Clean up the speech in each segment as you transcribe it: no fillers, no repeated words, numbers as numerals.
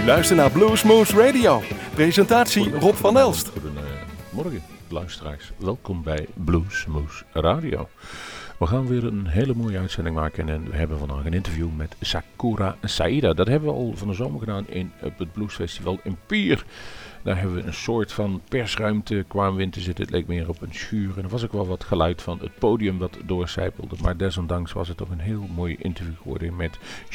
luistert naar Bluesmoose Radio. Presentatie Rob van Elst. Goedemorgen luisteraars, welkom bij Bluesmoose Radio. We gaan weer een hele mooie uitzending maken en we hebben vandaag een interview met Sakura Saida. Dat hebben we al van de zomer gedaan op het Bluesfestival in Pier. Daar hebben we een soort van persruimte kwamen we in te zitten. Het leek meer op een schuur en er was ook wel wat geluid van het podium dat doorcijpelde. Maar desondanks was het toch een heel mooi interview geworden met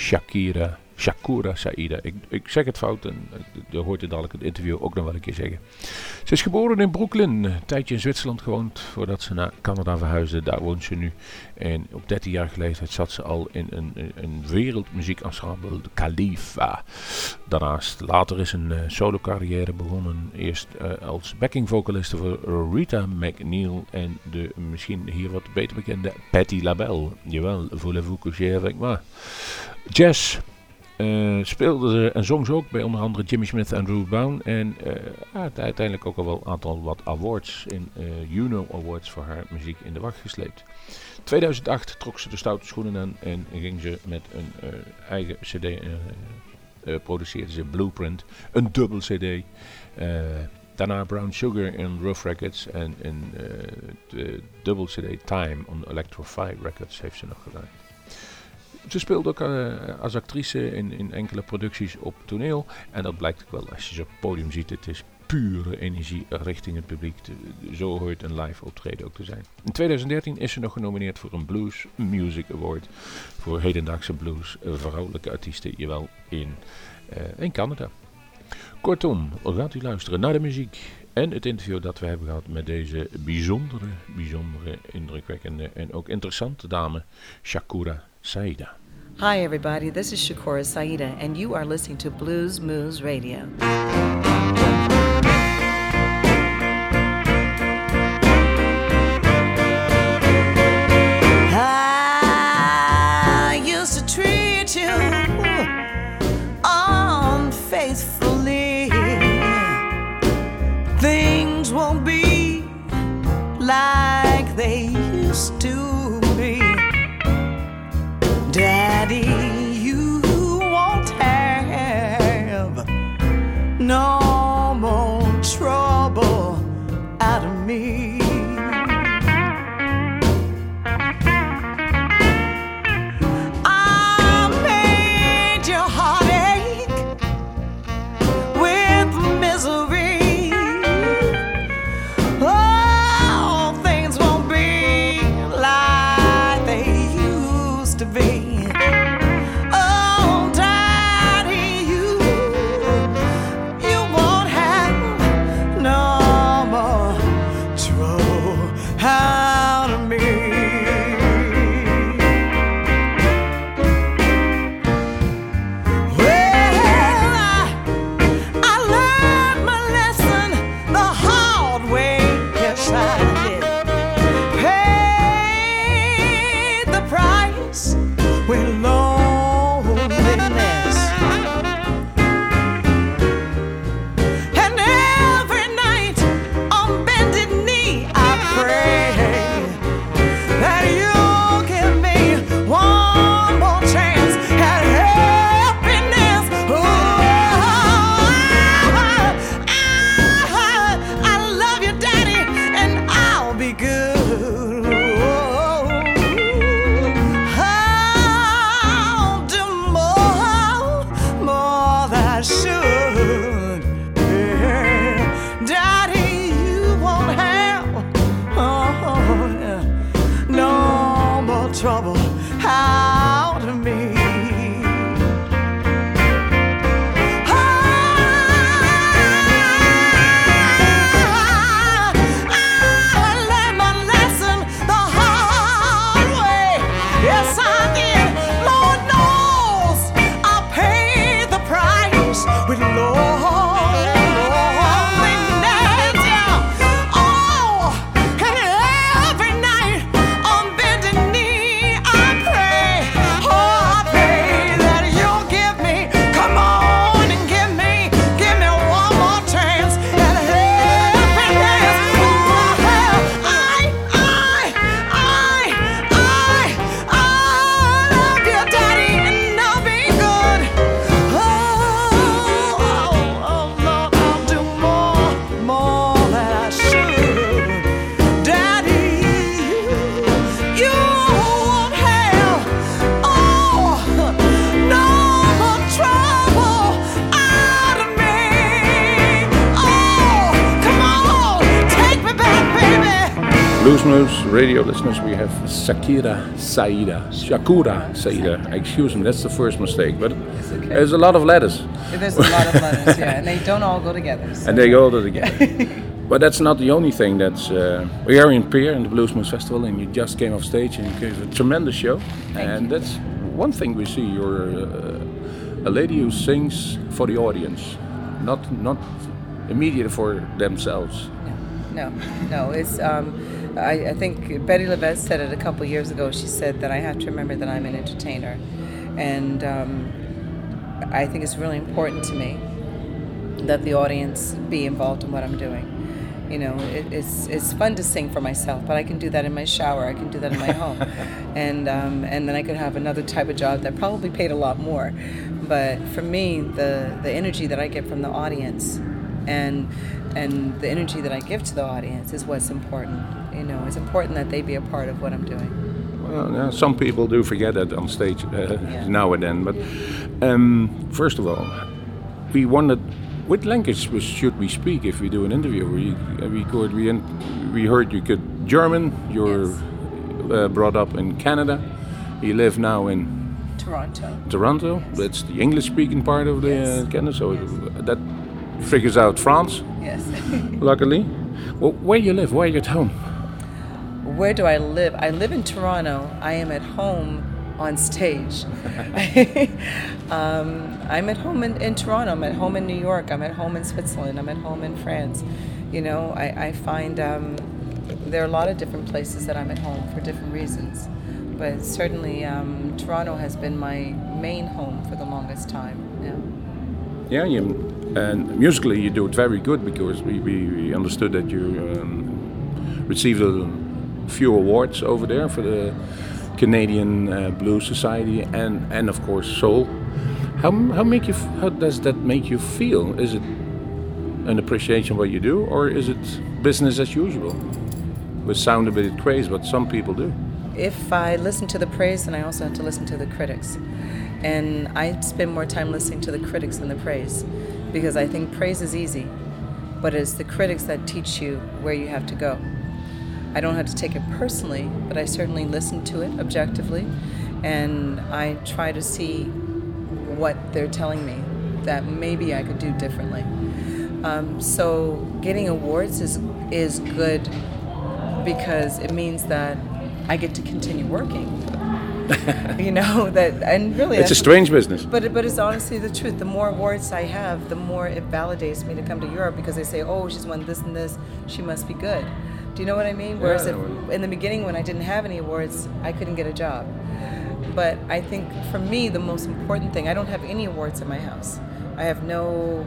Sakura Saida. Ik zeg het fout en je hoort het dadelijk het interview ook nog wel een keer zeggen. Ze is geboren in Brooklyn, een tijdje in Zwitserland gewoond voordat ze naar Canada verhuisde. Daar woont ze nu. En op 13-jarige leeftijd zat ze al in een wereldmuziekensemble, de Khalifa. Daarnaast later is een solo carrière begonnen. Eerst als backing vocaliste voor Rita McNeil en de misschien hier wat beter bekende Patti LaBelle. Jawel, voulez-vous coucher avec moi? Jazz. Speelde ze en zong ze ook bij onder andere Jimmy Smith en Ruth Brown. En uiteindelijk ook al wel een aantal wat awards in Juno Awards voor haar muziek in de wacht gesleept. 2008 trok ze de stoute schoenen aan en ging ze met een eigen cd produceerde ze Blueprint, een dubbel cd. Daarna Brown Sugar en Rough Records en de dubbel cd Time on Electrify Records heeft ze nog gedaan. Ze speelde ook als actrice in enkele producties op toneel. En dat blijkt ook wel als je ze op het podium ziet. Het is pure energie richting het publiek. Zo hoort een live optreden ook te zijn. In 2013 is ze nog genomineerd voor een Blues Music Award. Voor hedendaagse blues vrouwelijke artiesten. Jawel, in Canada. Kortom, gaat u luisteren naar de muziek. En het interview dat we hebben gehad met deze bijzondere, indrukwekkende en ook interessante dame, Sakura Saida. Hi everybody, this is Sakura Saida and you are listening to Bluesmoose Radio. I used to treat you unfaithfully. Things won't be like they used to be. Daddy, you won't have no more trouble out of me. I made your heart ache with misery. Oh, things won't be like they used to be. And every night on bended knee I pray. Bluesmoose radio listeners, we have Sakura Saida. Excuse me, that's the first mistake. But okay. There's a lot of letters. There's a lot of letters, yeah, and they don't all go together. So. And they go together. But that's not the only thing. That's we are in Peer in the Bluesmoose Festival, and you just came off stage and you gave a tremendous show. Thank you. That's one thing we see. You're a lady who sings for the audience, not immediate for themselves. No. It's I think Betty LaVette said it a couple years ago. She said that I have to remember that I'm an entertainer, and I think it's really important to me that the audience be involved in what I'm doing. You know, it's fun to sing for myself, but I can do that in my shower. I can do that in my home, and then I could have another type of job that probably paid a lot more. But for me, the energy that I get from the audience, and the energy that I give to the audience is what's important. You know, it's important that they be a part of what I'm doing. Well, some people do forget that on stage now and then. But first of all, we wondered, what language should we speak if we do an interview? We heard you could German. You're brought up in Canada. You live now in Toronto. Yes. That's the English-speaking part of the Canada. So that figures out France. Yes. Luckily. Well, where you live? Where are you at home? Where do I live? I live in Toronto. I am at home on stage. I'm at home in Toronto. I'm at home in New York. I'm at home in Switzerland. I'm at home in France. You know, I find there are a lot of different places that I'm at home for different reasons. But certainly Toronto has been my main home for the longest time. Yeah, and musically you do it very good, because we understood that you received a few awards over there for the Canadian Blues Society and of course Soul. How does that make you feel? Is it an appreciation of what you do, or is it business as usual? We sound a bit crazy, but some people do. If I listen to the praise, then I also have to listen to the critics. And I spend more time listening to the critics than the praise, because I think praise is easy, but it's the critics that teach you where you have to go. I don't have to take it personally, but I certainly listen to it objectively, and I try to see what they're telling me that maybe I could do differently. So getting awards is good, because it means that I get to continue working. You know, and really it's a strange business. But it's honestly the truth. The more awards I have, the more it validates me to come to Europe, because they say, oh, she's won this and this, she must be good. Do you know what I mean? Whereas in the beginning, when I didn't have any awards, I couldn't get a job. But I think for me, the most important thing, I don't have any awards in my house. I have no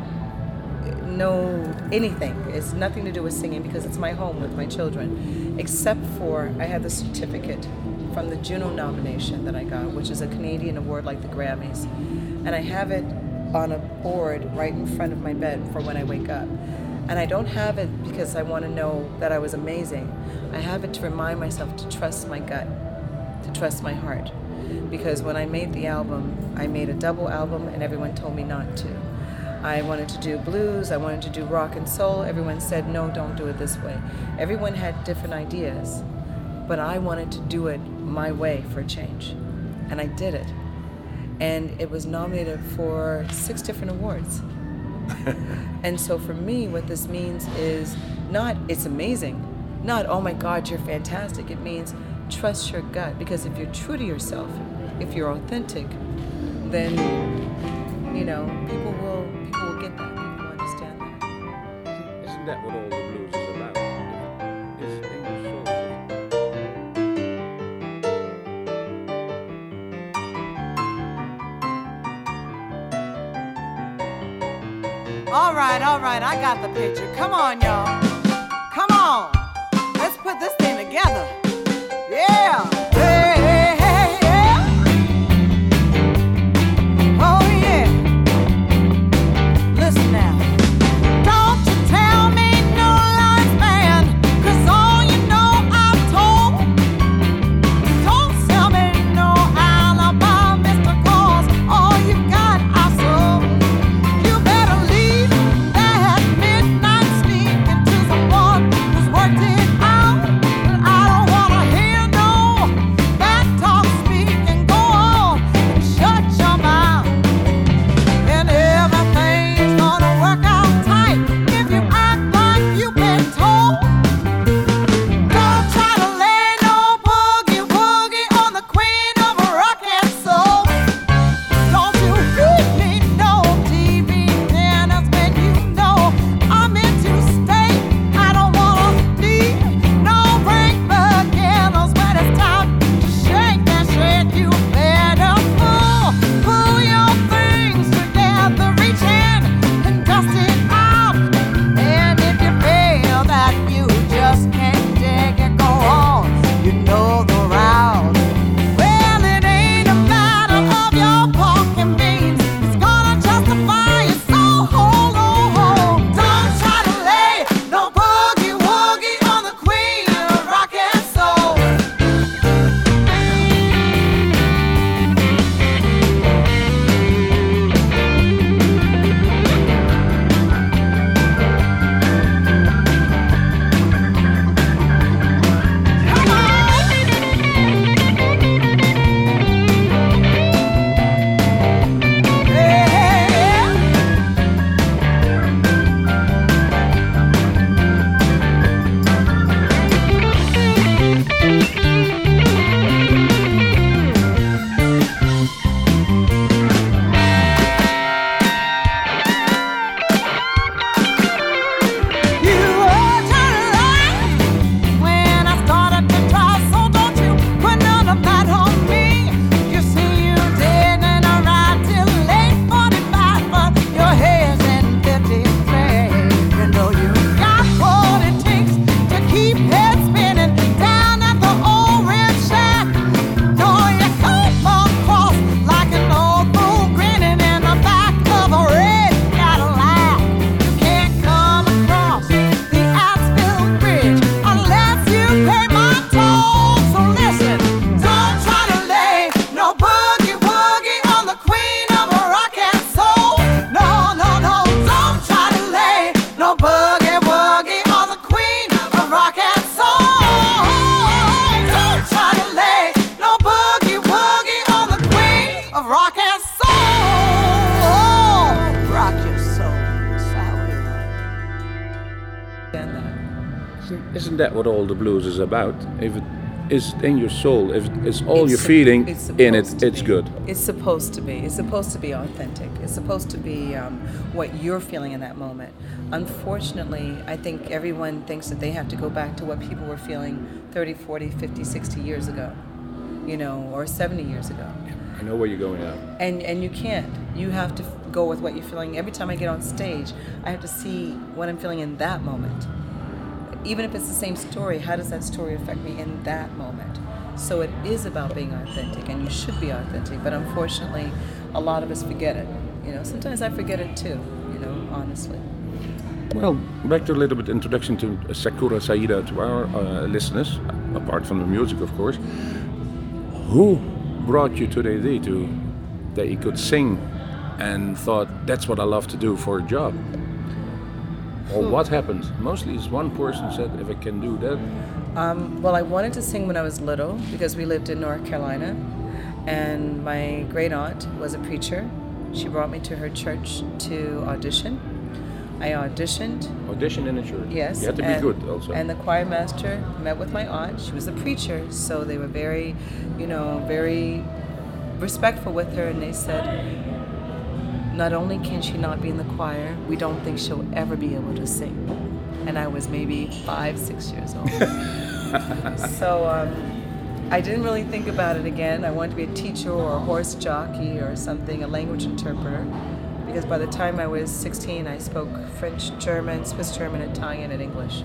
anything. It's nothing to do with singing, because it's my home with my children, except for I have the certificate from the Juno nomination that I got, which is a Canadian award like the Grammys. And I have it on a board right in front of my bed for when I wake up. And I don't have it because I want to know that I was amazing. I have it to remind myself to trust my gut, to trust my heart. Because when I made the album, I made a double album and everyone told me not to. I wanted to do blues, I wanted to do rock and soul. Everyone said, no, don't do it this way. Everyone had different ideas, but I wanted to do it my way for a change. And I did it. And it was nominated for 6 different awards. And so for me, what this means is not, it's amazing, not, oh my God, you're fantastic. It means trust your gut, because if you're true to yourself, if you're authentic, then, you know, people will get that, people will understand that. Isn't that what all the blues is about? It's English All right, I got the picture. Come on, y'all. Come on. Let's put this thing together. Yeah. Hey, hey, hey, yeah. Oh, yeah. Listen now. Don't you tell me no lies, man, 'cause all you know I've told. Don't sell me no alibi, Mr. Cause all you got I sold. You better leave that midnight sneak into someone who's working Isn't that what all the blues is about? If it is in your soul, if it's all It's you're sup- feeling it's in it, supposed to it's be. good. It's supposed to be. It's supposed to be authentic. It's supposed to be what you're feeling in that moment. Unfortunately, I think everyone thinks that they have to go back to what people were feeling 30, 40, 50, 60 years ago, or 70 years ago. I know where you're going now. And you can't. You have to go with what you're feeling. Every time I get on stage, I have to see what I'm feeling in that moment. Even if it's the same story, how does that story affect me in that moment? So it is about being authentic, and you should be authentic. But unfortunately, a lot of us forget it. Sometimes I forget it too. Honestly. Well, back to a little bit introduction to Sakura Saida to our listeners, apart from the music, of course. Who brought you to the idea that you could sing and thought, that's what I love to do for a job? Or what happened? Mostly it's one person said, if I can do that. Well, I wanted to sing when I was little because we lived in North Carolina, and my great aunt was a preacher. She brought me to her church to audition. I auditioned. Audition in a church. Yes. You had to be good also. And the choir master met with my aunt. She was a preacher, so they were very, very respectful with her, and they said, not only can she not be in the choir, we don't think she'll ever be able to sing. And I was maybe 5, 6 years old. So I didn't really think about it again. I wanted to be a teacher or a horse jockey or something, a language interpreter. Because by the time I was 16, I spoke French, German, Swiss German, Italian, and English.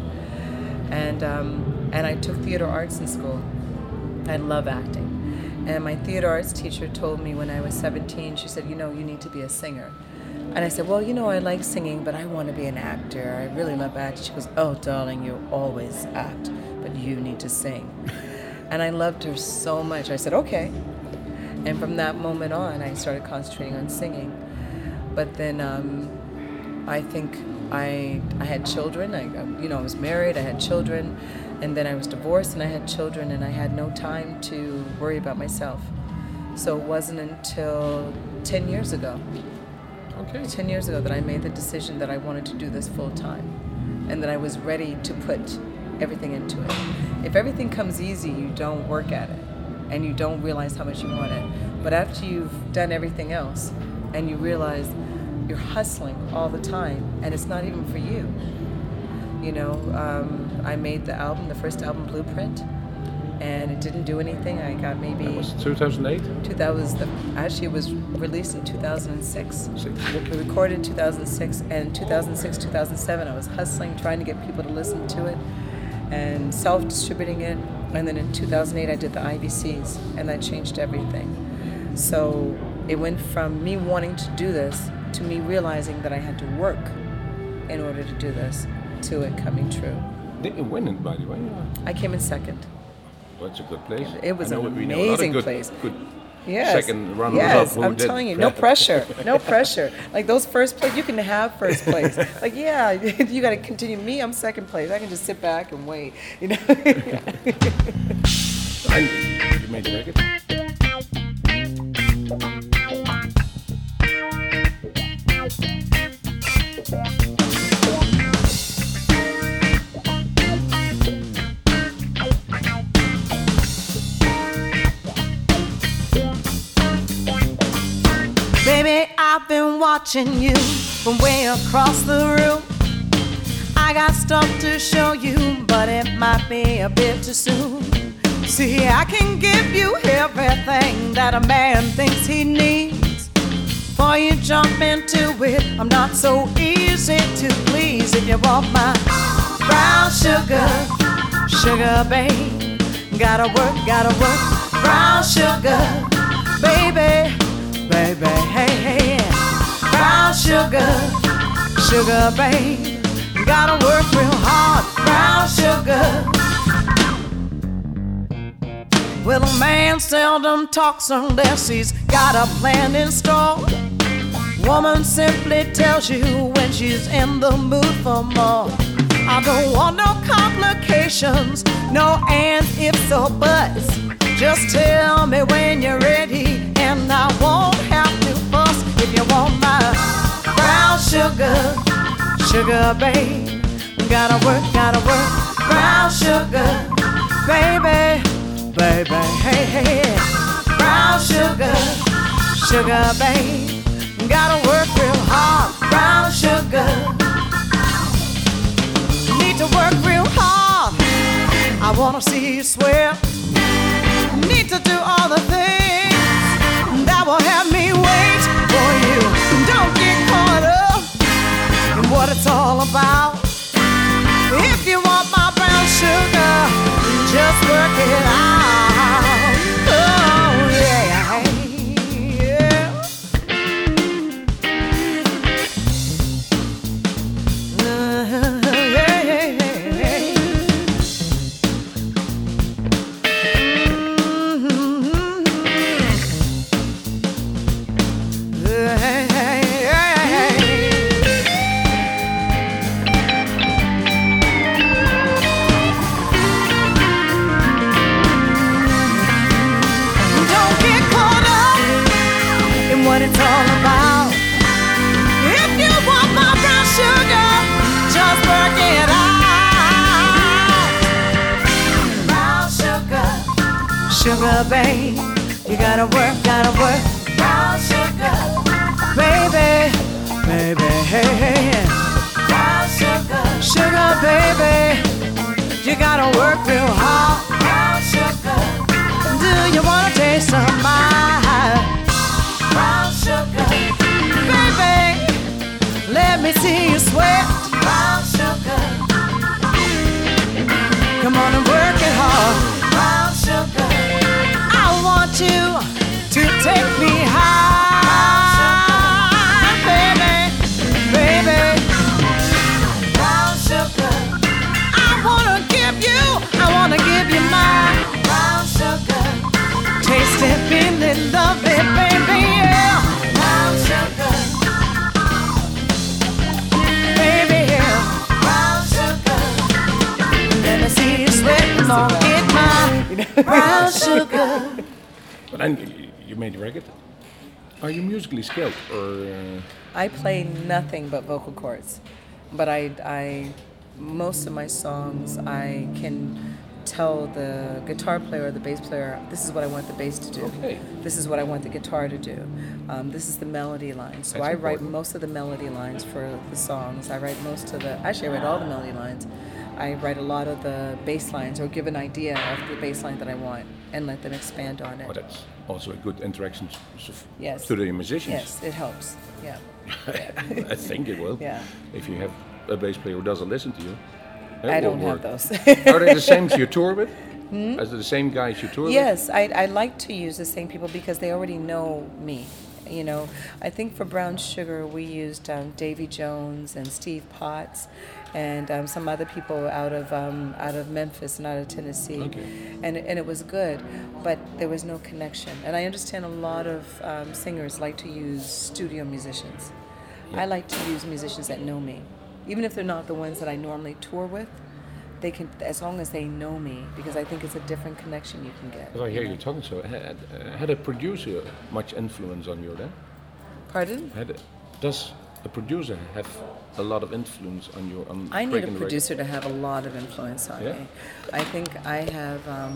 And I took theater arts in school. I love acting. And my theater arts teacher told me when I was 17, she said, you need to be a singer. And I said, well, I like singing, but I want to be an actor. I really love acting. She goes, oh, darling, you always act, but you need to sing. And I loved her so much. I said, okay. And from that moment on, I started concentrating on singing. But then I think I had children. I was married, I had children. And then I was divorced and I had children, and I had no time to worry about myself. So it wasn't until 10 years ago. Okay. 10 years ago that I made the decision that I wanted to do this full time, and that I was ready to put everything into it. If everything comes easy, you don't work at it, and you don't realize how much you want it. But after you've done everything else, and you realize you're hustling all the time, and it's not even for you. I made the first album, Blueprint, and it didn't do anything. I got maybe... That was 2008? Actually, it was released in 2006. We recorded in 2006, and 2006, 2007, I was hustling, trying to get people to listen to it, and self-distributing it. And then in 2008, I did the IBCs, and that changed everything. So it went from me wanting to do this to me realizing that I had to work in order to do this, to it coming true. Did you win it, by the way? I came in second. That's a good place. It was I know an we know a lot of amazing good, place. Good Yes. second runners yes, up. Who I'm did. telling you, no pressure, no pressure. Like those first place, you can have first place. Like, yeah, you got to continue. Me, I'm second place. I can just sit back and wait. And you made the record? Baby, I've been watching you from way across the room. I got stuff to show you, but it might be a bit too soon. See, I can give you everything that a man thinks he needs. Before you jump into it, I'm not so easy to please. If you want my brown sugar, sugar babe, gotta work, brown sugar, baby. Baby, hey, hey, brown sugar, sugar, babe, gotta work real hard, brown sugar. Well, a man seldom talks unless he's got a plan in store. Woman simply tells you when she's in the mood for more. I don't want no complications, no ands, ifs, or buts. Just tell me when you're ready, and I won't have to fuss. If you want my brown sugar, sugar babe, gotta work, brown sugar, baby, baby, hey, hey, brown sugar, sugar, babe, gotta work real hard, brown sugar, need to work real hard, I wanna see you sweat, need to do all the things that will help me wait for you, don't get caught up in what it's all about. If you want my brown sugar, just work it out. Oh yeah, yeah. Yeah, yeah, yeah. What it's all about. If you want my brown sugar, just work it out. Brown sugar, sugar, babe, you gotta work, brown sugar, baby, baby, hey, hey. Brown sugar, sugar, baby, you gotta work real hard. Brown sugar, do you wanna taste some my brown sugar, baby, let me see you sweat. Brown sugar, come on and work it hard. Brown sugar, I want you to take me high, baby, baby. Brown sugar, I wanna give you my brown sugar. Taste it, feel it, love it, baby. Brown sugar, baby, brown sugar. Let me see you sweat, come on, get my brown sugar. But then you made the record. Are you musically skilled, or? I play nothing but vocal cords, but I most of my songs I can tell the guitar player or the bass player, this is what I want the bass to do. Okay. This is what I want the guitar to do. This is the melody line. So That's I write important. most of the melody lines for the songs. I write actually I write all the melody lines. I write a lot of the bass lines or give an idea of the bass line that I want and let them expand on it. Oh, that's also a good interaction Yes. to the musicians. Yes, it helps. Yeah. I think it will. Yeah. If you have a bass player who doesn't listen to you. I it will don't work. have those. Are they the same you tour with? As the same guys you tour with? Yes, I like to use the same people because they already know me. You know, I think for Brown Sugar we used Davy Jones and Steve Potts and some other people out of Memphis and out of Tennessee, Okay. and it was good, but there was no connection. And I understand a lot of singers like to use studio musicians. I like to use musicians that know me, even if they're not the ones that I normally tour with. They can, as long as they know me, because I think it's a different connection you can get. If I hear you talking so, had a producer much influence on you then? Pardon? Does a producer have a lot of influence on you? On I need a breaking the producer to have a lot of influence on Yeah? me. I think I have,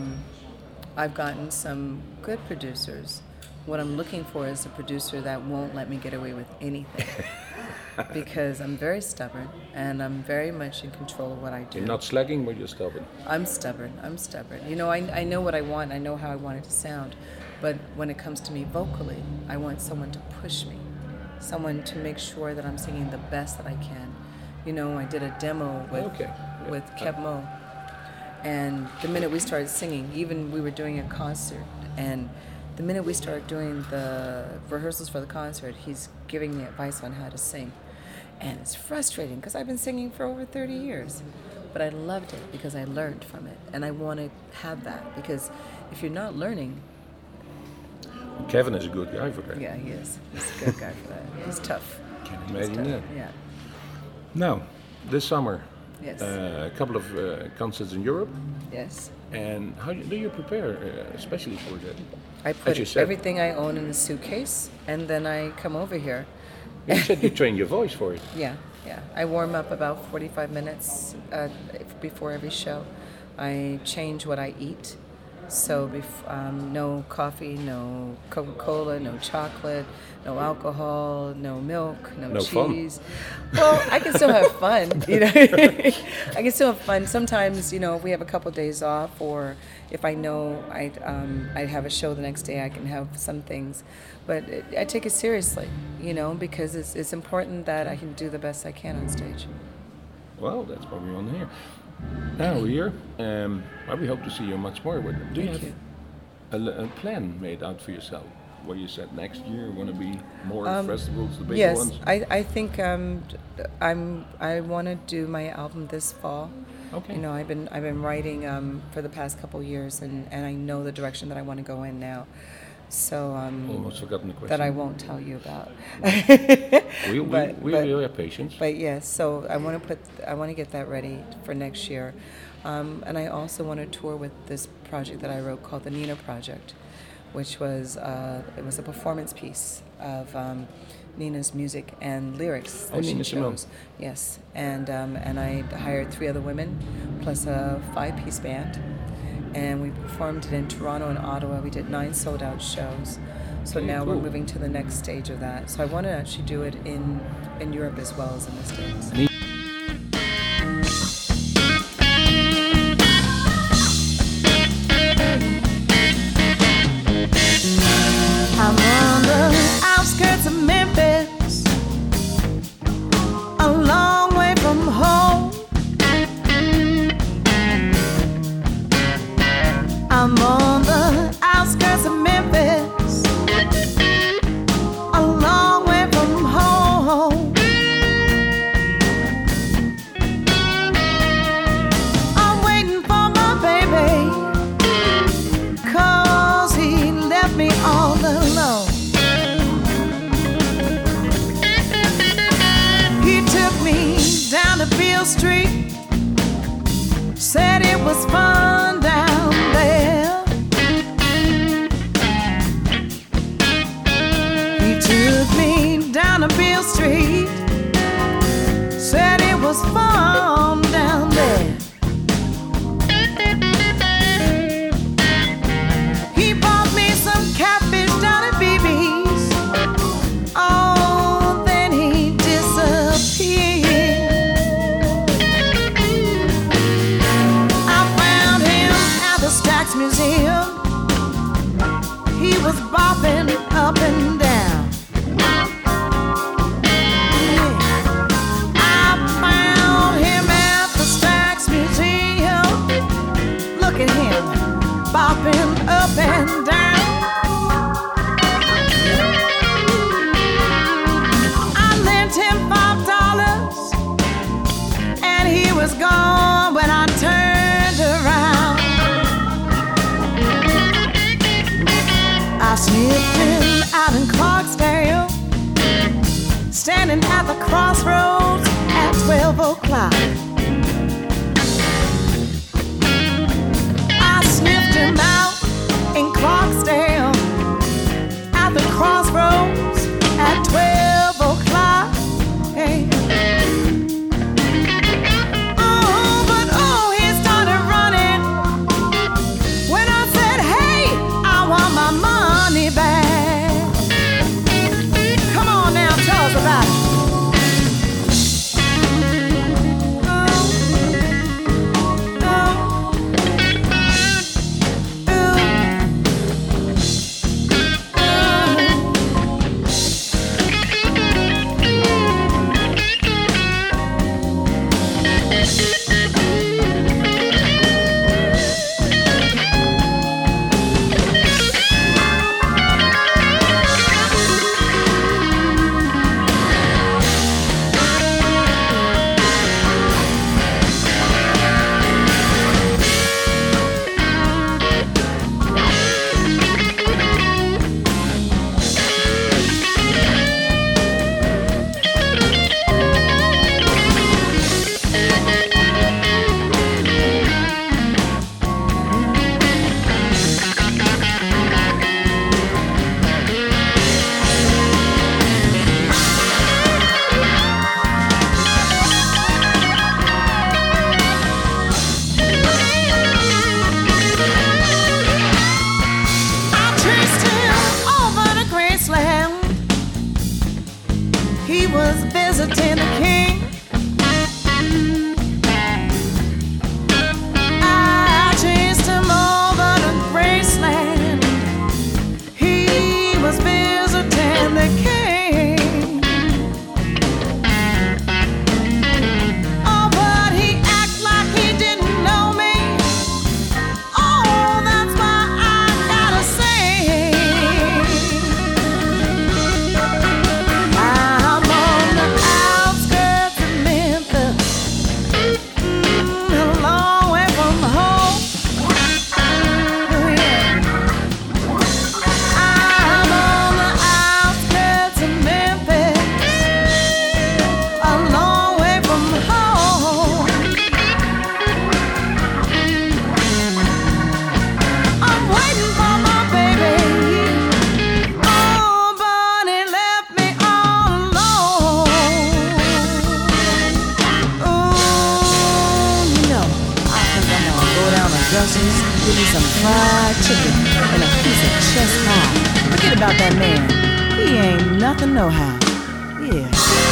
I've gotten some good producers. What I'm looking for is a producer that won't let me get away with anything. Because I'm very stubborn and I'm very much in control of what I do. You're not slacking, but you're stubborn. I'm stubborn. You know, I know what I want. I know how I want it to sound. But when it comes to me vocally, I want someone to push me. Someone to make sure that I'm singing the best that I can. You know, I did a demo with Kev Mo. And the minute we started singing, even we were doing a concert, and the minute we started doing the rehearsals for the concert, he's giving me advice on how to sing. And it's frustrating because I've been singing for over 30 years. But I loved it because I learned from it. And I want to have that because if you're not learning... Kevin is a good guy for that. Yeah, he is. He's a good guy for that. He's tough. Can He's imagine tough. that. Yeah. Now, this summer, Yes. a couple of concerts in Europe. Yes. And how do you prepare, especially for that? I As put you said. everything I own in a suitcase and then I come over here. You said you train your voice for it. Yeah. Yeah, I warm up about 45 minutes before every show. I change what I eat. So no coffee, no Coca-Cola, no chocolate, no alcohol, no milk, no cheese. Fun. Well, I can still have fun, you know. I can still have fun. Sometimes, you know, if we have a couple days off, or if I know I'd have a show the next day, I can have some things. But I take it seriously, you know, because it's important that I can do the best I can on stage. Well, that's what we want to hear. Now here, we hope to see you much more. Do you have a plan made out for yourself? Where you said next year want to be more festivals, the bigger ones? Yes, I think I want to do my album this fall. Okay. You know, I've been writing for the past couple years, and I know the direction that I want to go in now. So almost forgotten the question that I won't tell you about. we have patience. But yes, so I want to get that ready for next year, and I also want to tour with this project that I wrote called the Nina Project, which was it was a performance piece of Nina's music and lyrics that she chose. Yes, and I hired 3 other women plus a 5-piece band. And we performed it in Toronto and Ottawa. We did 9 sold-out shows. So now we're moving to the next stage of that. So I want to actually do it in Europe as well as in the States. I'm on the outskirts of Memphis, a long way from home. I'm on the outskirts of Memphis, a long way from home. I'm waiting for my baby, 'cause he left me all alone. He took me down to Beale Street, said it was fun down there. He took me down to Beale Street, said it was fun down there. He bought me some catfish down at BB's. Oh, then he disappeared. I found him at the Stax Museum. He was bopping up and down. I found him at the Stax Museum. Look at him bopping up and down. I lent him $5 and he was gone when I turned around. I sniffed him out in Clarksdale, standing at the crossroads at 12 o'clock. I sniffed him out in Clarksdale at the crossroads at 12 o'clock. Hey. He started running when I said, hey, I want my money back. Come on now, tell us about it. fried chicken and a piece of chest pie. Forget about that man. He ain't nothing no how. Yeah.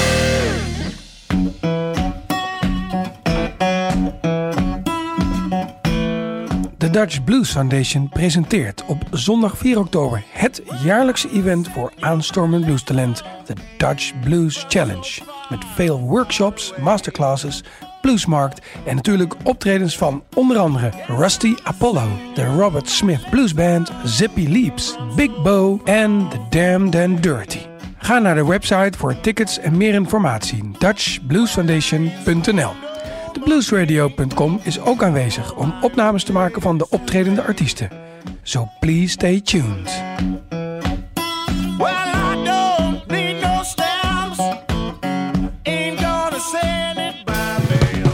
De Dutch Blues Foundation presenteert op zondag 4 oktober het jaarlijkse event voor aanstormend bluestalent, de Dutch Blues Challenge. Met veel workshops, masterclasses, bluesmarkt en natuurlijk optredens van onder andere Rusty Apollo, de Robert Smith Blues Band, Zippy Leaps, Big Bo en The Damned and Dirty. Ga naar de website voor tickets en meer informatie, dutchbluesfoundation.nl. De bluesradio.com is ook aanwezig om opnames te maken van de optredende artiesten. So please stay tuned. Well, I don't need no stamps. Ain't gonna send it by mail.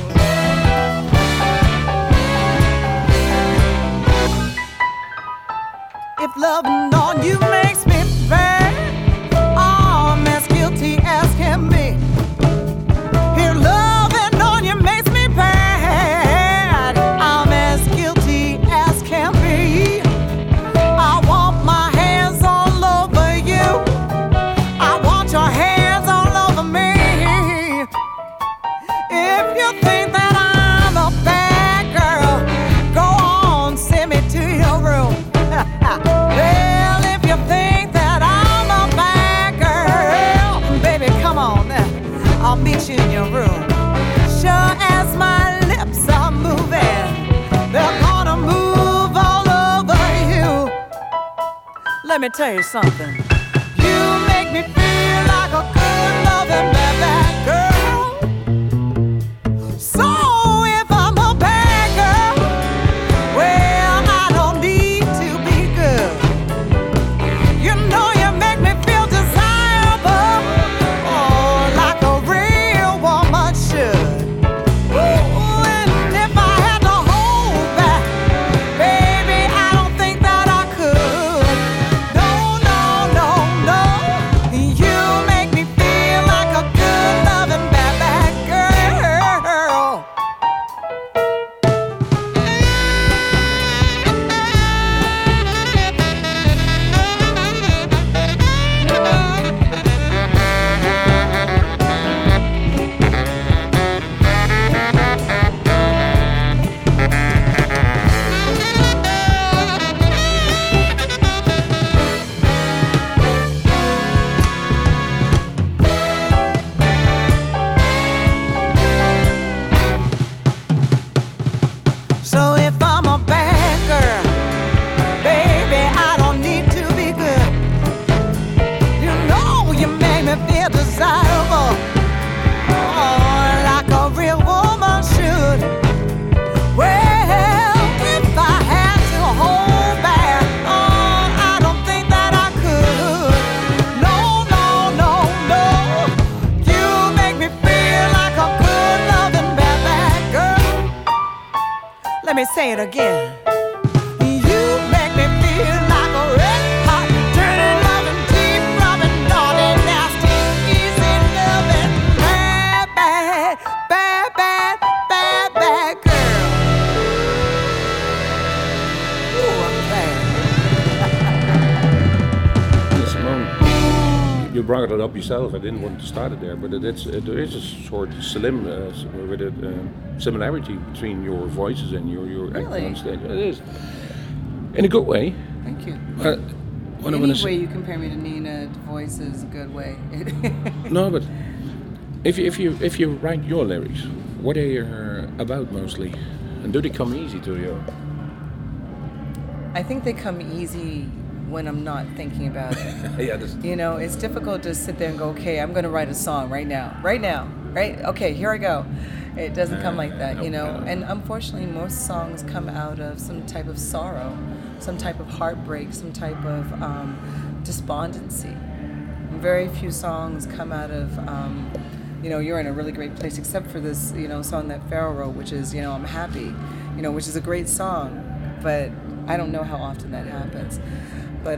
If loving on you makes me bad, I'm as guilty as can be. If loving on you makes me bad, I'm as guilty as can be. I want my hands all over you. I want your hands all over me. If you think that I'm a bad girl, go on, send me to your room. Well, if you think that I'm a bad girl, baby, come on, I'll meet you in your room. Sure as my lips are moving, they're gonna move all over you. Let me tell you something. You make me feel like a good loving bad girl. So if I'm a bad girl, well, I don't need to be good. You know you make me feel desirable, oh, like a real woman should. Ooh, and if I had to hold back, baby, I don't think that I could. No, no, no, no. You make me feel like a good loving bad girl. So if I'm a bad girl, baby, I don't need to be good. You know you make me feel desirable, oh, like a real woman should. Well, if I had to hold back, oh, I don't think that I could. No, no, no, no. You make me feel like a good loving bad girl. Let me say it again. You make me feel like a red hot, dirty loving, deep rubbing, naughty, nasty, easy loving, bad, bad, bad, bad, bad, bad girl. Ooh, I'm bad. Simone, you brought it up yourself. I didn't want to start it there, but there is a sort of similarity between your voices and your acting Really? on stage. It is, in a good way. Thank you. What I Any wanna say- way you compare me to Nina, the voice is a good way. No, but if you write your lyrics, what are you about mostly, and do they come easy to you? I think they come easy when I'm not thinking about it. Yeah, that's, You know, it's difficult to sit there and go, okay, I'm going to write a song right now, right? Okay, here I go. It doesn't come like that, you know. And unfortunately, most songs come out of some type of sorrow, some type of heartbreak, some type of despondency. Very few songs come out of, you're in a really great place, except for this, song that Pharaoh wrote, which is, I'm happy, which is a great song, but I don't know how often that happens. But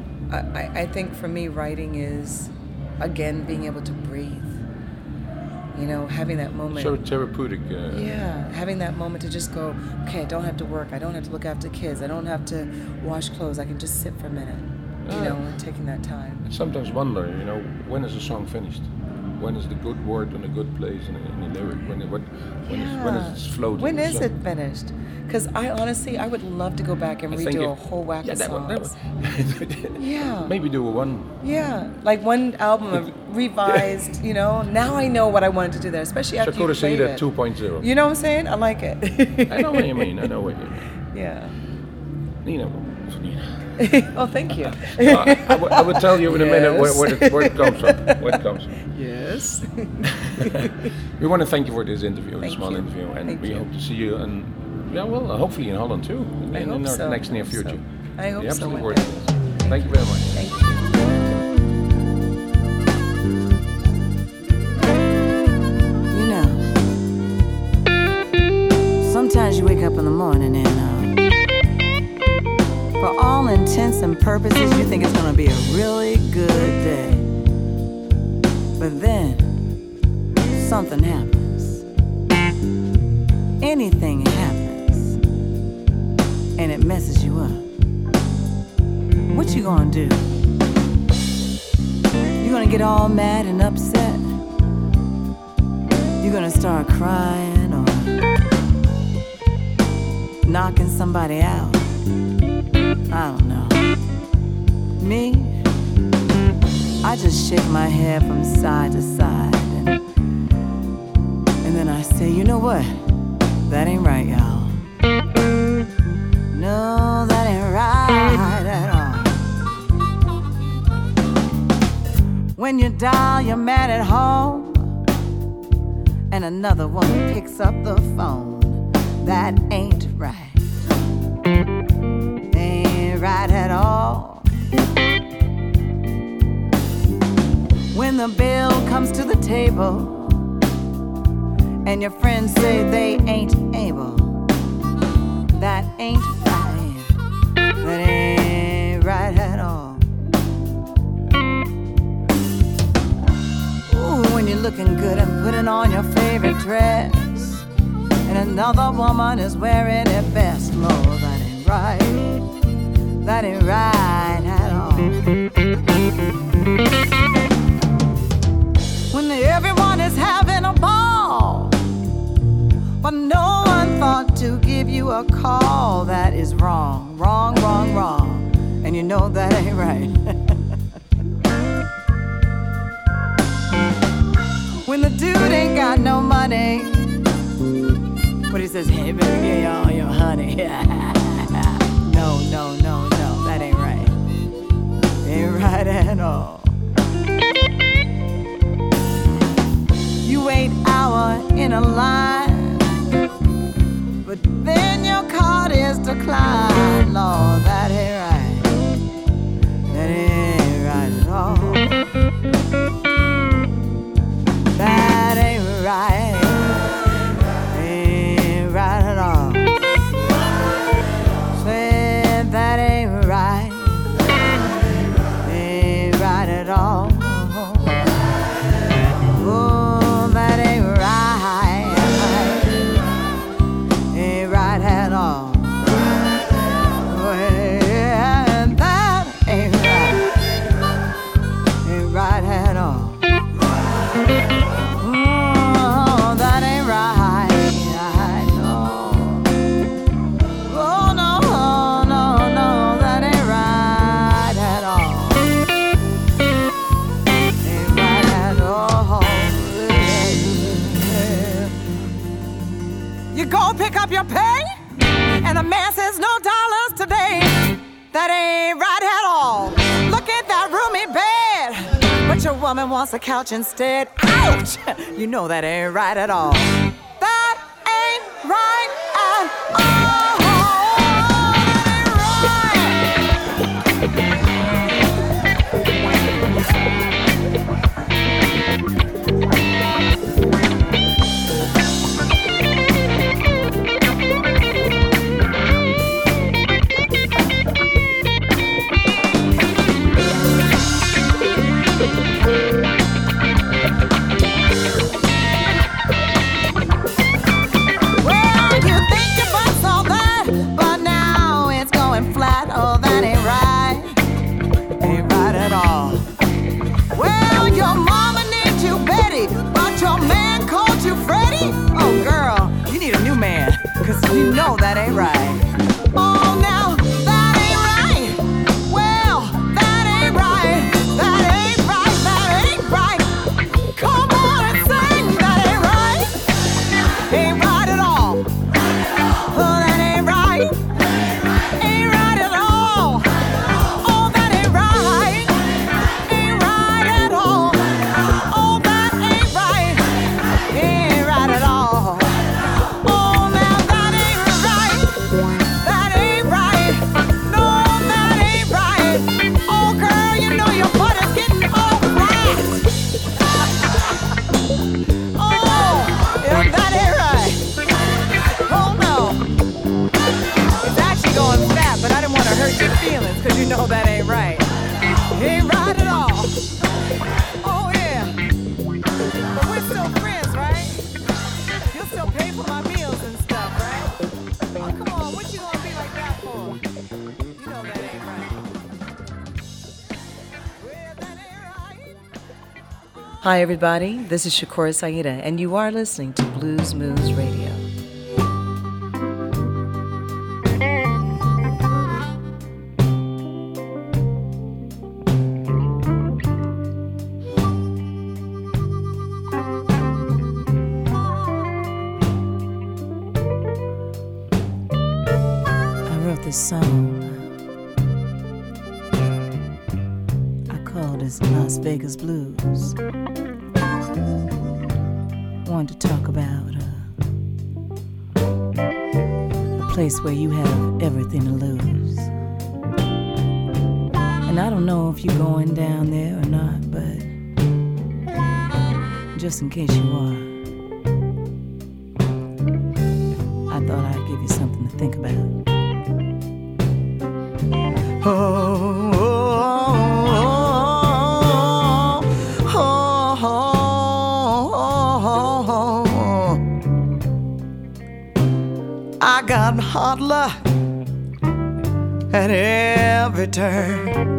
I think for me, writing is, again, being able to breathe. You know, having that moment. So therapeutic. Yeah, having that moment to just go, okay, I don't have to work, I don't have to look after kids, I don't have to wash clothes, I can just sit for a minute, you know, and taking that time. I sometimes wonder, you know, when is a song finished? When is the good word in a good place in the lyric? When is it floating? When is it finished? Because I would love to go back and redo a whole whack of songs. Yeah. Maybe do a one. Yeah, like one album revised, you know. Now I know what I wanted to do there, especially after you played it. Sakura Saida 2.0. You know what I'm saying? I like it. I know what you mean. Yeah. Nina. Oh, thank you. I will tell you in a minute where it comes from. Yes. We want to thank you for this interview, this small you. interview, and Thank we you. hope to see you, and hopefully in Holland too, in the next near future. I hope You're so. absolutely worth it. Thank you very much. Thank you. You know, sometimes you wake up in the morning and for all intents and purposes, you think it's gonna be a really good day. But then, something happens. Anything happens, and it messes you up. What you gonna do? You gonna get all mad and upset? You gonna start crying or knocking somebody out? I don't know. Me, I just shake my head from side to side and then I say, you know what? That ain't right, y'all. No, that ain't right at all. When you dial, you're mad at home and another one picks up the phone. That ain't right. Right at all. When the bill comes to the table and your friends say they ain't able, that ain't right. That ain't right at all. Ooh, when you're looking good and putting on your favorite dress and another woman is wearing it best, Lord, that ain't right. That ain't right at all. When everyone is having a ball, but no one thought to give you a call, that is wrong, wrong, wrong, wrong. And you know that ain't right. When the dude ain't got no money, but he says, hey, baby, give you all your honey. No, no, no, no, that ain't right. Ain't right at all. You wait hour in a line, but then your card is declined. Lord, that ain't right. That ain't right at all. That ain't right. Ain't right at all. That ain't right. Ain't right at all. Oh, that ain't right. Ain't right at all. Well, that ain't right. Ain't right at all. Oh, that ain't right. Pick up your pay, and the man says no dollars today. That ain't right at all. Look at that roomy bed, but your woman wants a couch instead. Ouch! You know that ain't right at all. That ain't right at all. That ain't right. Hi, everybody. This is Shakura Saida, and you are listening to Blues Moose Radio. I wrote this song. I called it Las Vegas Blues. Wanted to talk about a place where you have everything to lose. And I don't know if you're going down there or not, but just in case you are, I thought I'd give you something to think about. I got hard luck at every turn.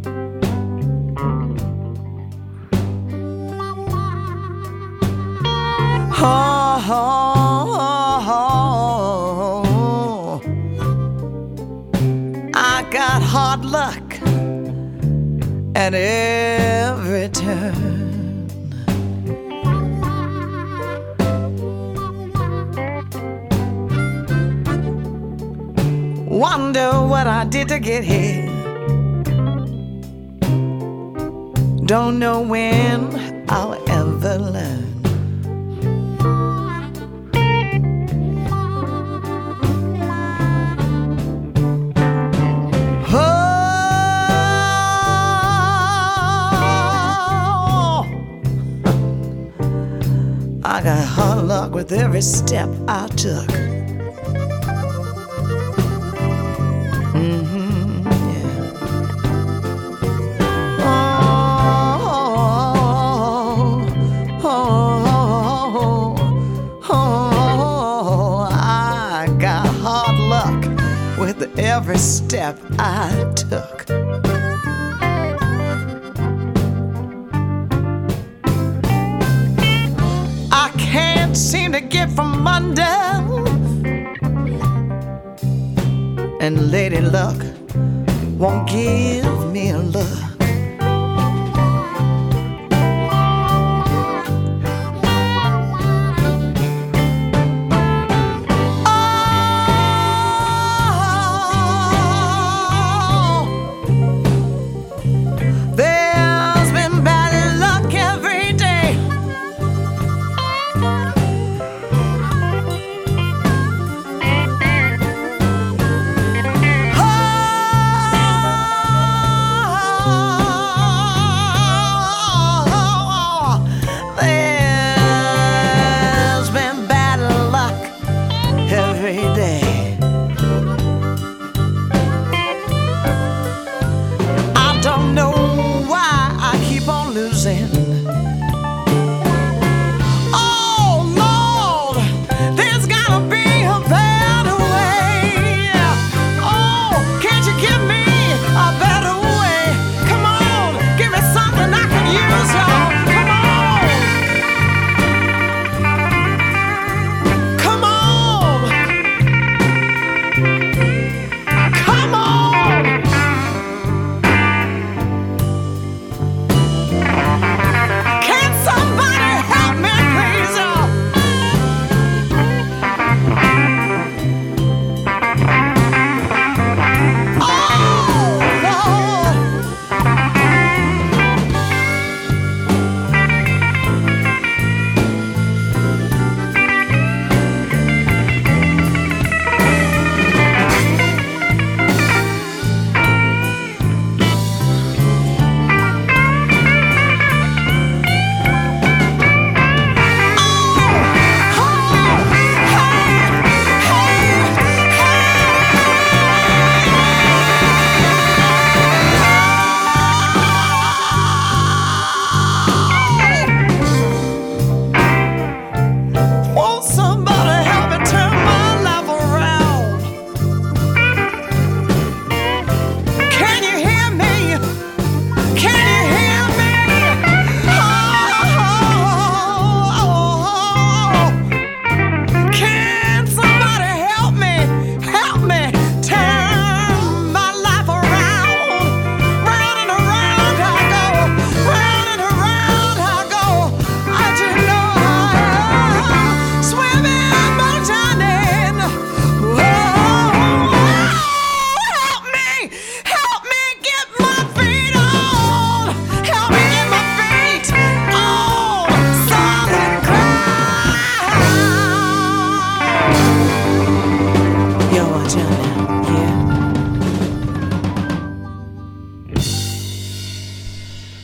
I got hard luck at every turn. Wonder what I did to get here. Don't know when I'll ever learn. I got hard luck with every step I took. I got hard luck with every step I took. I can't seem to get from under, and Lady Luck won't give me a look.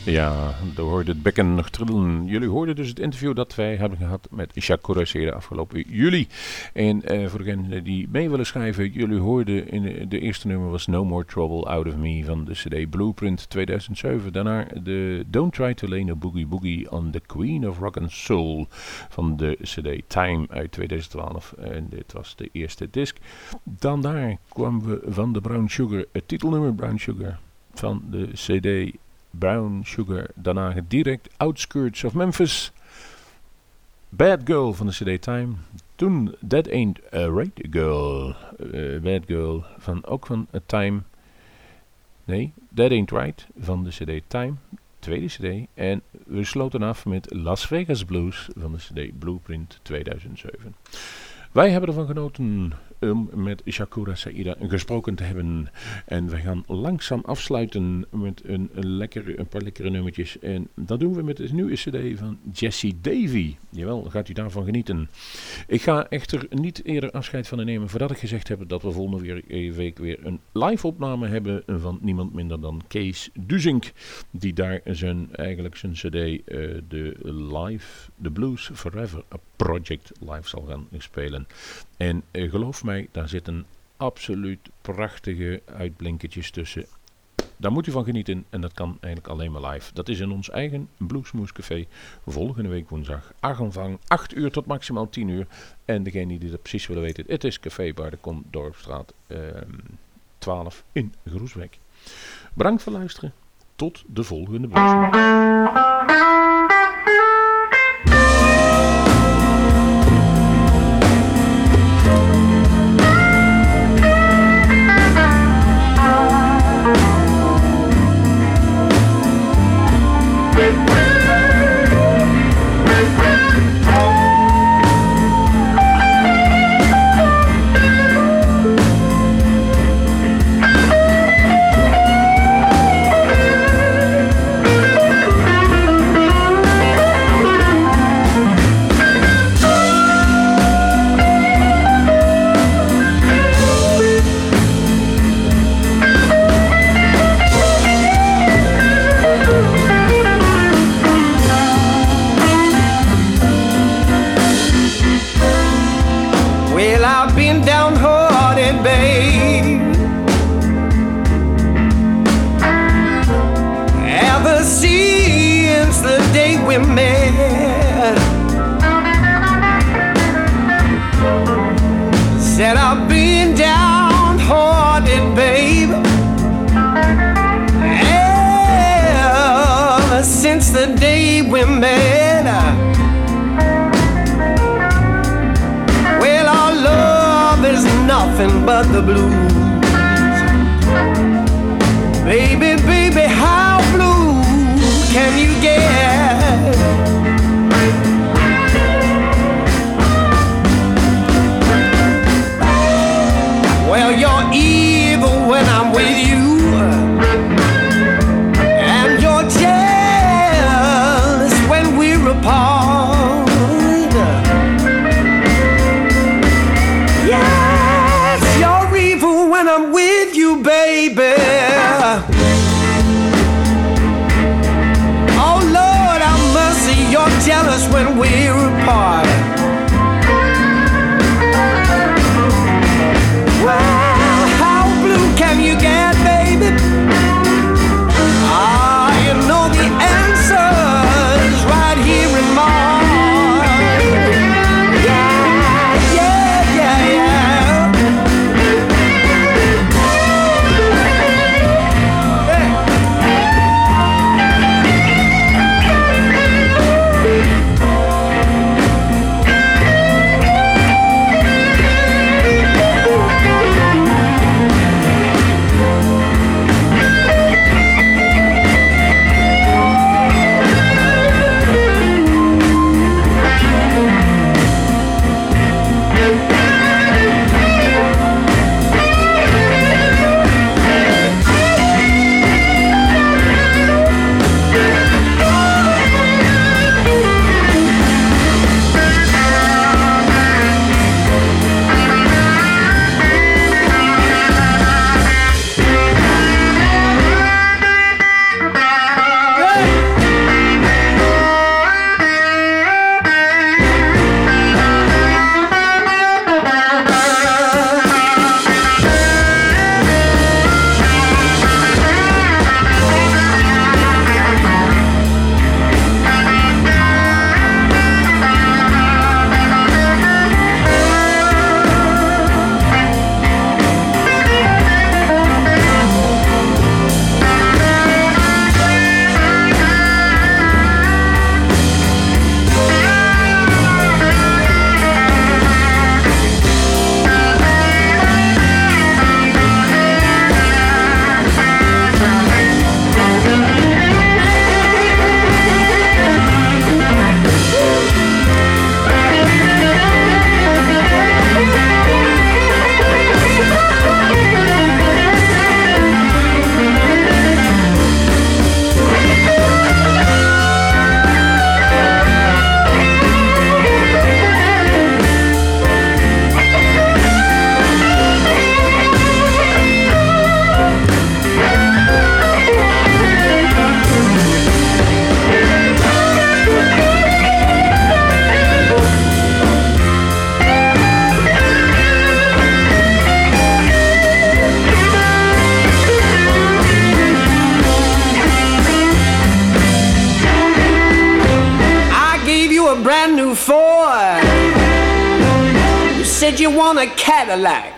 Ja, daar hoorde het bekken nog trillen. Jullie hoorden dus het interview dat wij hebben gehad met Sakura Saida afgelopen juli. En voor degenen die mee willen schrijven, jullie hoorden in de eerste nummer was No More Trouble Out of Me van de CD Blueprint 2007. Daarna de Don't Try to Lay No Boogie Boogie on the Queen of Rock and Soul van de CD Time uit 2012. En dit was de eerste disc. Dan daar kwamen we van de Brown Sugar, het titelnummer Brown Sugar van de CD Brown Sugar. Daarna direct Outskirts of Memphis, Bad Girl van de CD Time. Toen That Ain't a Right Girl, Bad Girl ook van Time. Nee, That Ain't Right van de CD Time, tweede CD. En we sloten af met Las Vegas Blues van de CD Blueprint 2007. Wij hebben ervan genoten om met Sakura Saida gesproken te hebben. En we gaan langzaam afsluiten met een paar lekkere nummertjes. En dat doen we met de nieuwe CD van Jessie Davy. Jawel, gaat u daarvan genieten. Ik ga echter niet eerder afscheid van nemen voordat ik gezegd heb dat we volgende week weer een live opname hebben van niemand minder dan Kees Duzink. Die daar zijn CD, The Blues Forever Project live zal gaan spelen. En geloof mij, daar zitten absoluut prachtige uitblinkertjes tussen. Daar moet u van genieten en dat kan eigenlijk alleen maar live. Dat is in ons eigen Bluesmoose Café volgende week woensdag. Aanvang 8 uur tot maximaal 10 uur. En degene die dat precies willen weten, het is Café Bar de Kom, Dorpstraat 12 in Groesbeek. Bedankt voor het luisteren. Tot de volgende Bluesmoose. Said I've been downhearted, babe, ever since the day we met. Well, our love is nothing but the blues. Baby, baby, how blue can you get? Well, you're evil when I'm with you, and you're jealous when we're apart. Yes, you're evil when I'm with you, baby. Oh, Lord, have mercy, you're jealous when we're apart. Well, how blue can you get, baby? Ah, you know the answer's right here in mine. Yeah, yeah, yeah, yeah. Hey. before. You said you want a Cadillac.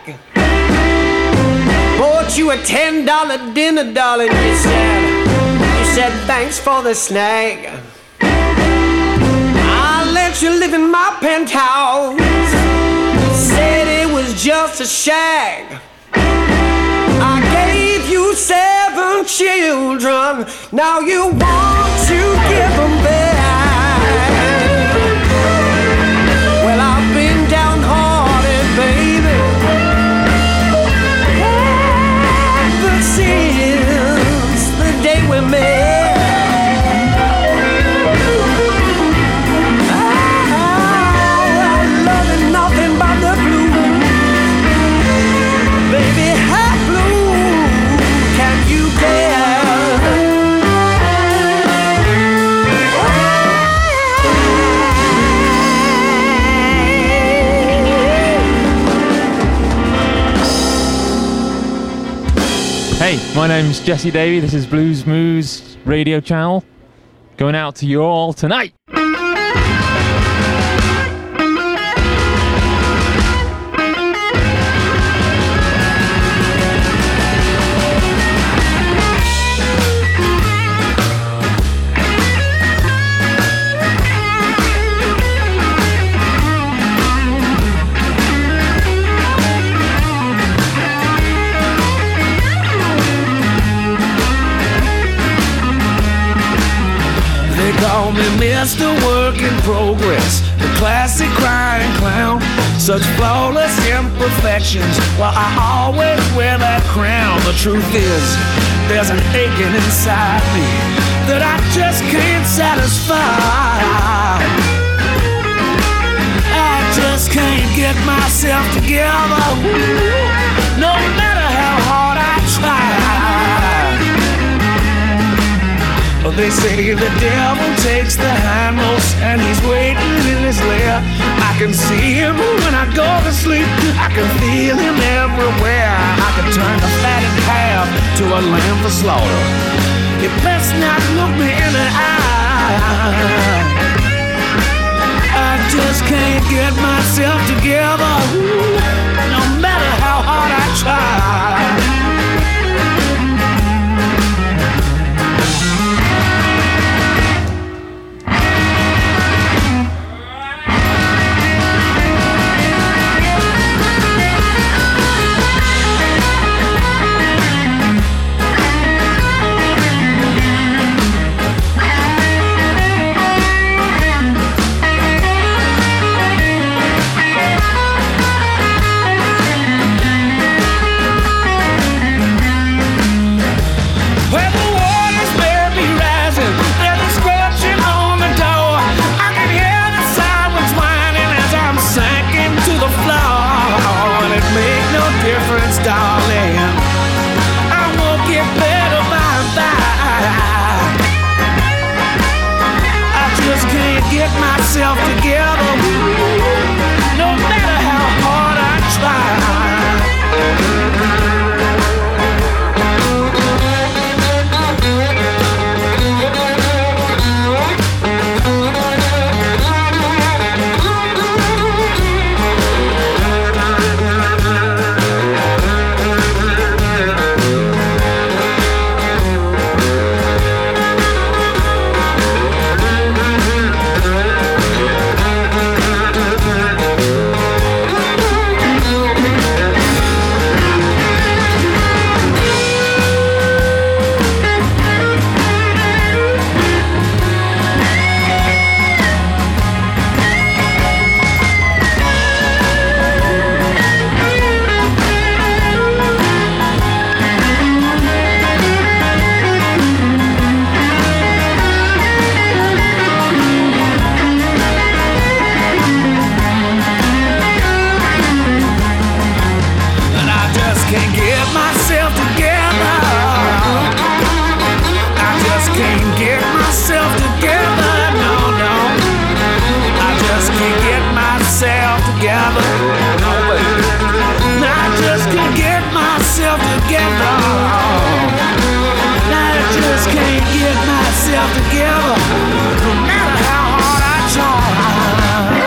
Bought you a $10 dinner, darling. You said thanks for the snack. I let you live in my penthouse. Said it was just a shack. I gave you 7 children. Now you want to give them back. Well, I've been downhearted, baby, ever since the day we met. I'm loving nothing but the blues. Baby, how blue can you get? Hey, my name's Jesse Davey. This is Blues Moose Radio Channel. Going out to you all tonight. Call me Mr. Work in Progress, the classic crying clown. Such flawless imperfections, well, I always wear that crown. The truth is, there's an aching inside me that I just can't satisfy. I just can't get myself together, no matter how hard I try. They say the devil takes the hindmost and he's waiting in his lair. I can see him when I go to sleep. I can feel him everywhere. I can turn the fatted calf to a lamb for slaughter. You best not look me in the eye. I just can't get myself together, no matter how hard I try. Darling, I won't get better by and by. I just can't get myself together, no matter how hard I try. Together, no matter how hard I try.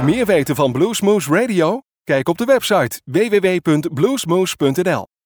Meer weten van Bluesmoose Radio? Kijk op de website www.bluesmoose.nl.